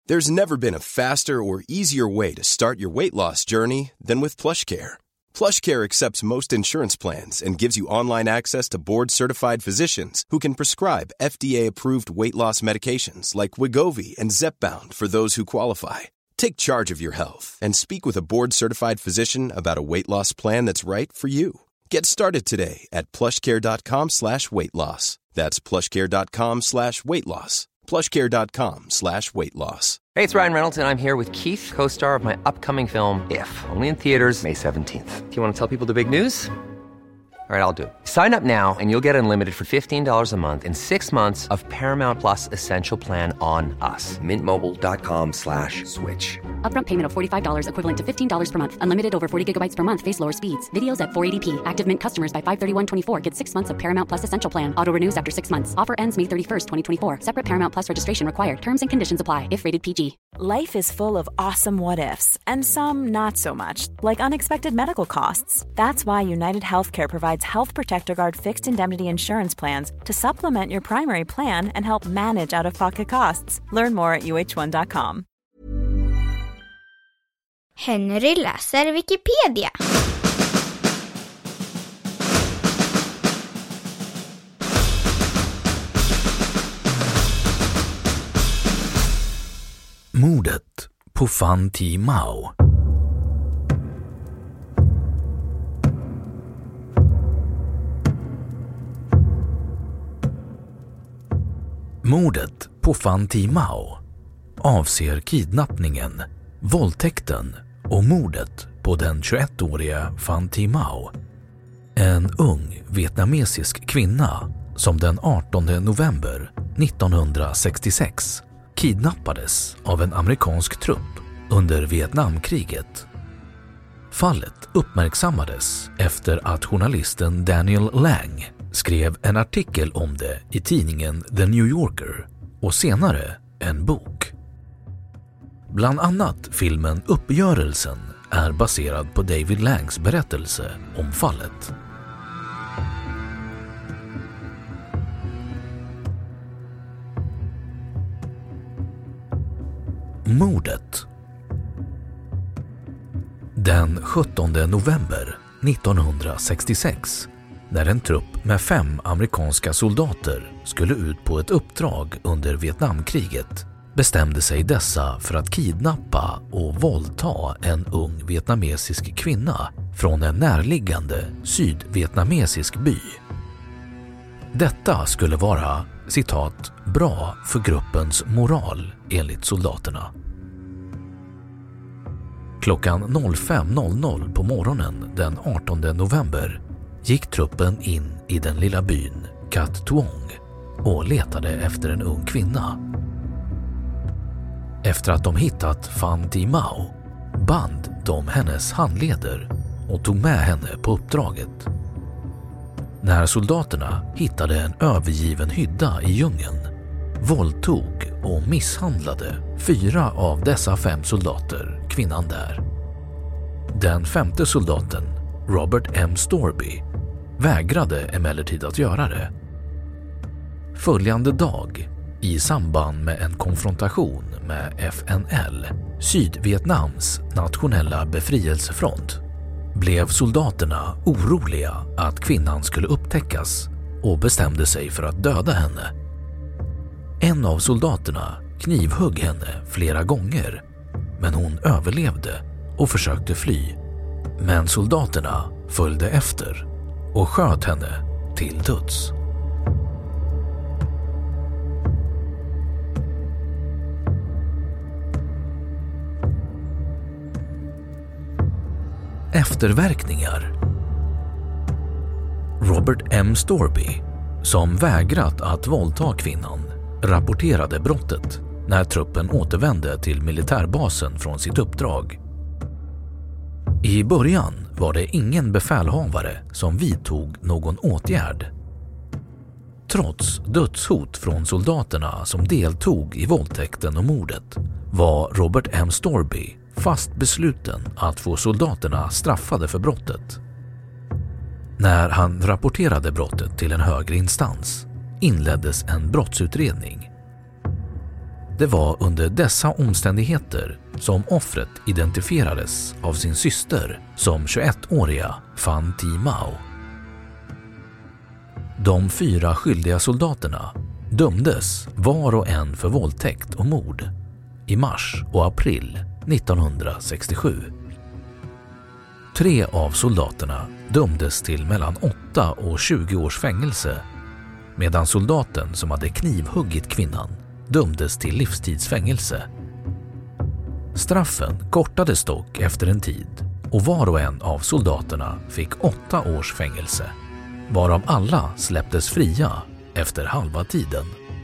There's never been a faster or easier way to start your weight loss journey than with PlushCare. PlushCare accepts most insurance plans and gives you online access to board-certified physicians who can prescribe FDA-approved weight loss medications like Wegovy and Zepbound for those who qualify. Take charge of your health and speak with a board-certified physician about a weight loss plan that's right for you. Get started today at plushcare.com/weightloss. That's plushcare.com/weightloss. plushcare.com/weightloss. Hey, it's Ryan Reynolds, and I'm here with Keith, co-star of my upcoming film, If, only in theaters May 17th. Do you want to tell people the big news? All right, I'll do it. Sign up now and you'll get unlimited for $15 a month and 6 months of Paramount Plus Essential Plan on us. Mintmobile.com/switch. Upfront payment of $45 equivalent to $15 per month. Unlimited over 40 gigabytes per month. Face lower speeds. Videos at 480p. Active Mint customers by 531.24 get 6 months of Paramount Plus Essential Plan. Auto renews after 6 months. Offer ends May 31st, 2024. Separate Paramount Plus registration required. Terms and conditions apply if rated PG. Life is full of awesome what-ifs and some not so much, like unexpected medical costs. That's why United Healthcare provides Health Protector Guard fixed indemnity insurance plans to supplement your primary plan and help manage out-of-pocket costs. Learn more at uh1.com. Henry läser Wikipedia. Mordet på Fan Thi Mao. Mordet på Fan Thi Mao avser kidnappningen, våldtäkten och mordet på den 21-åriga Fan Thi Mao, en ung vietnamesisk kvinna som den 18 november 1966 kidnappades av en amerikansk trupp under Vietnamkriget. Fallet uppmärksammades efter att journalisten Daniel Lang skrev en artikel om det i tidningen The New Yorker och senare en bok. Bland annat filmen Uppgörelsen är baserad på David Langs berättelse om fallet. Mordet. Den 17 november 1966, när en trupp med 5 amerikanska soldater skulle ut på ett uppdrag under Vietnamkriget, bestämde sig dessa för att kidnappa och våldta en ung vietnamesisk kvinna från en närliggande sydvietnamesisk by. Detta skulle vara, citat, bra för gruppens moral enligt soldaterna. Klockan 05.00 på morgonen den 18 november gick truppen in i den lilla byn Cat Tuong och letade efter en ung kvinna. Efter att de hittat Fan Thi Mao band de hennes handleder och tog med henne på uppdraget. När soldaterna hittade en övergiven hydda i djungeln våldtog och misshandlade 4 av dessa 5 soldater kvinnan där. Den 5:e soldaten, Robert M. Storby, vägrade emellertid att göra det. Följande dag, i samband med en konfrontation med FNL, Sydvietnams nationella befrielsefront, blev soldaterna oroliga att kvinnan skulle upptäckas och bestämde sig för att döda henne. En av soldaterna knivhögg henne flera gånger, men hon överlevde och försökte fly. Men soldaterna följde efter och sköt henne till döds. Efterverkningar. Robert M. Storby, som vägrat att våldta kvinnan, rapporterade brottet när truppen återvände till militärbasen från sitt uppdrag. I början var det ingen befälhavare som vidtog någon åtgärd. Trots dödshot från soldaterna som deltog i våldtäkten och mordet var Robert M. Storby fast besluten att få soldaterna straffade för brottet. När han rapporterade brottet till en högre instans inleddes en brottsutredning. Det var under dessa omständigheter som offret identifierades av sin syster som 21-åriga Fan Thi Mao. De 4 skyldiga soldaterna dömdes var och en för våldtäkt och mord i mars och april 1967. 3 av soldaterna dömdes till mellan 8 och 20 års fängelse, medan soldaten som hade knivhuggit kvinnan dömdes till livstidsfängelse. Straffen kortades dock efter en tid och var och en av soldaterna fick 8 års fängelse, varav alla släpptes fria efter halva tiden.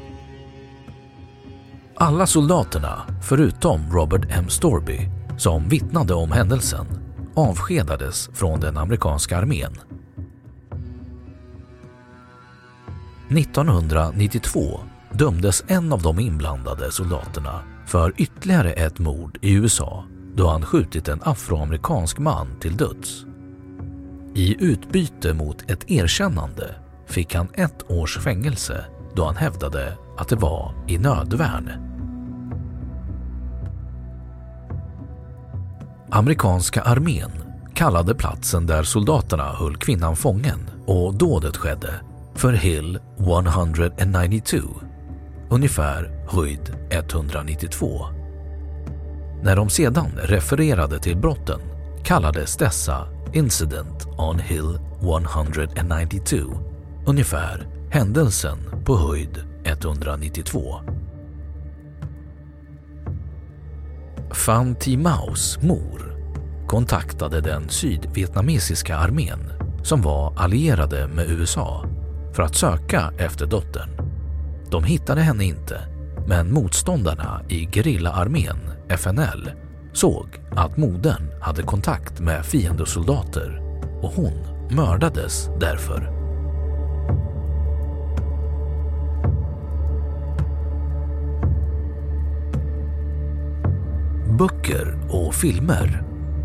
Alla soldaterna, förutom Robert M. Storby, som vittnade om händelsen, avskedades från den amerikanska armén. 1992 dömdes en av de inblandade soldaterna för ytterligare ett mord i USA då han skjutit en afroamerikansk man till döds. I utbyte mot ett erkännande fick han 1 års fängelse då han hävdade att det var i nödvärn. Amerikanska armén kallade platsen där soldaterna höll kvinnan fången och dådet skedde för Hill 192, ungefär höjd 192. När de sedan refererade till brotten kallades dessa Incident on Hill 192, ungefär händelsen på höjd 192. Fan Thi Maos mor kontaktade den sydvietnamesiska armén som var allierade med USA för att söka efter dottern. De hittade henne inte, men motståndarna i gerillaarmén, FNL, såg att modern hade kontakt med fiendesoldater och hon mördades därför. Böcker och filmer.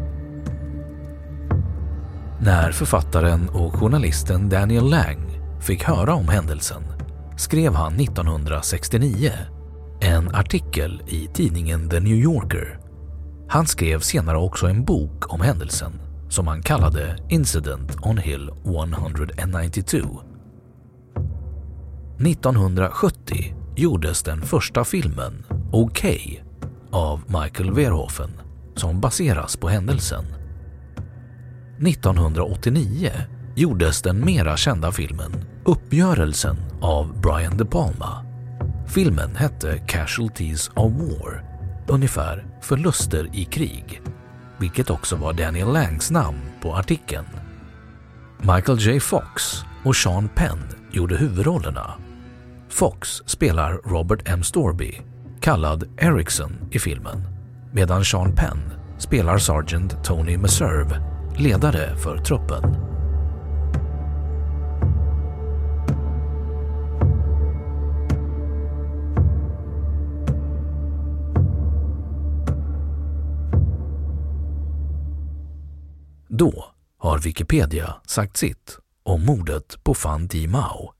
När författaren och journalisten Daniel Lang fick höra om händelsen skrev han 1969 en artikel i tidningen The New Yorker. Han skrev senare också en bok om händelsen som han kallade Incident on Hill 192. 1970 gjordes den första filmen Okej av Michael Verhoeven som baseras på händelsen. 1989 gjordes den mera kända filmen Uppgörelsen av Brian De Palma. Filmen hette Casualties of War, ungefär förluster i krig, vilket också var Daniel Langs namn på artikeln. Michael J. Fox och Sean Penn gjorde huvudrollerna. Fox spelar Robert M. Storby, kallad Erickson i filmen, medan Sean Penn spelar Sergeant Tony Meserve, ledare för truppen. Då har Wikipedia sagt sitt om mordet på Fan Thi Mao.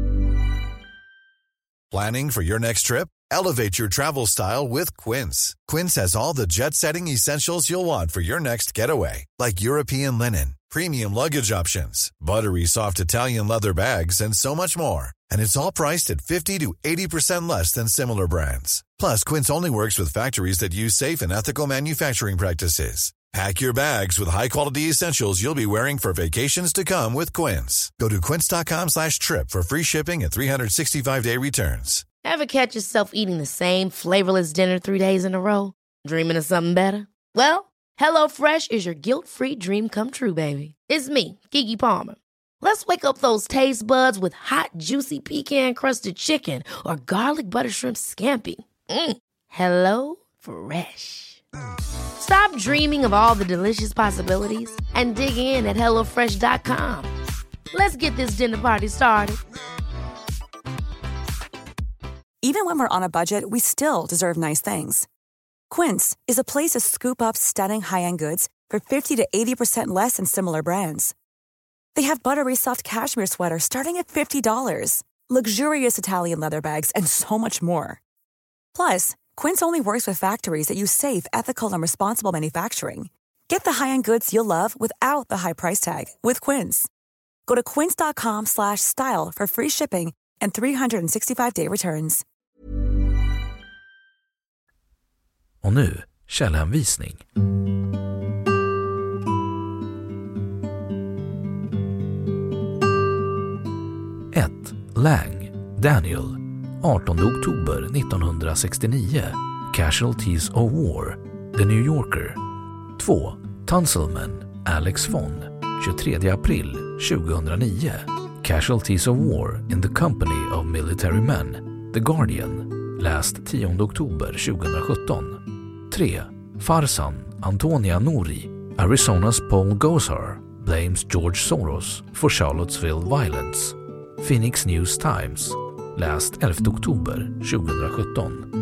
Planning for your next trip? Elevate your travel style with Quince. Quince has all the jet-setting essentials you'll want for your next getaway, like European linen, premium luggage options, buttery soft Italian leather bags, and so much more. And it's all priced at 50 to 80% less than similar brands. Plus, Quince only works with factories that use safe and ethical manufacturing practices. Pack your bags with high-quality essentials you'll be wearing for vacations to come with Quince. Go to quince.com/trip for free shipping and 365-day returns. Ever catch yourself eating the same flavorless dinner 3 days in a row? Dreaming of something better? Well, HelloFresh is your guilt-free dream come true, baby. It's me, Keke Palmer. Let's wake up those taste buds with hot, juicy pecan-crusted chicken or garlic butter shrimp scampi. Hello Fresh. Stop dreaming of all the delicious possibilities and dig in at HelloFresh.com. Let's get this dinner party started. Even when we're on a budget, we still deserve nice things. Quince is a place to scoop up stunning high-end goods for 50 to 80% less than similar brands. They have buttery soft cashmere sweaters starting at $50, luxurious Italian leather bags, and so much more. Plus, Quince only works with factories that use safe, ethical, and responsible manufacturing. Get the high-end goods you'll love without the high price tag with Quince. Go to quince.com/style for free shipping and 365-day returns. Och nu källhänvisning. 1. Lang, Daniel. 18 oktober 1969. Casualties of War. The New Yorker. 2. Tunsilman, Alex von. 23 april 2009. Casualties of War in the Company of Military Men. The Guardian. Läst 10 oktober 2017. 3. Farsan, Antonia Nouri. Arizona's Paul Gosar blames George Soros for Charlottesville violence. Phoenix News Times. Läst 11 oktober 2017.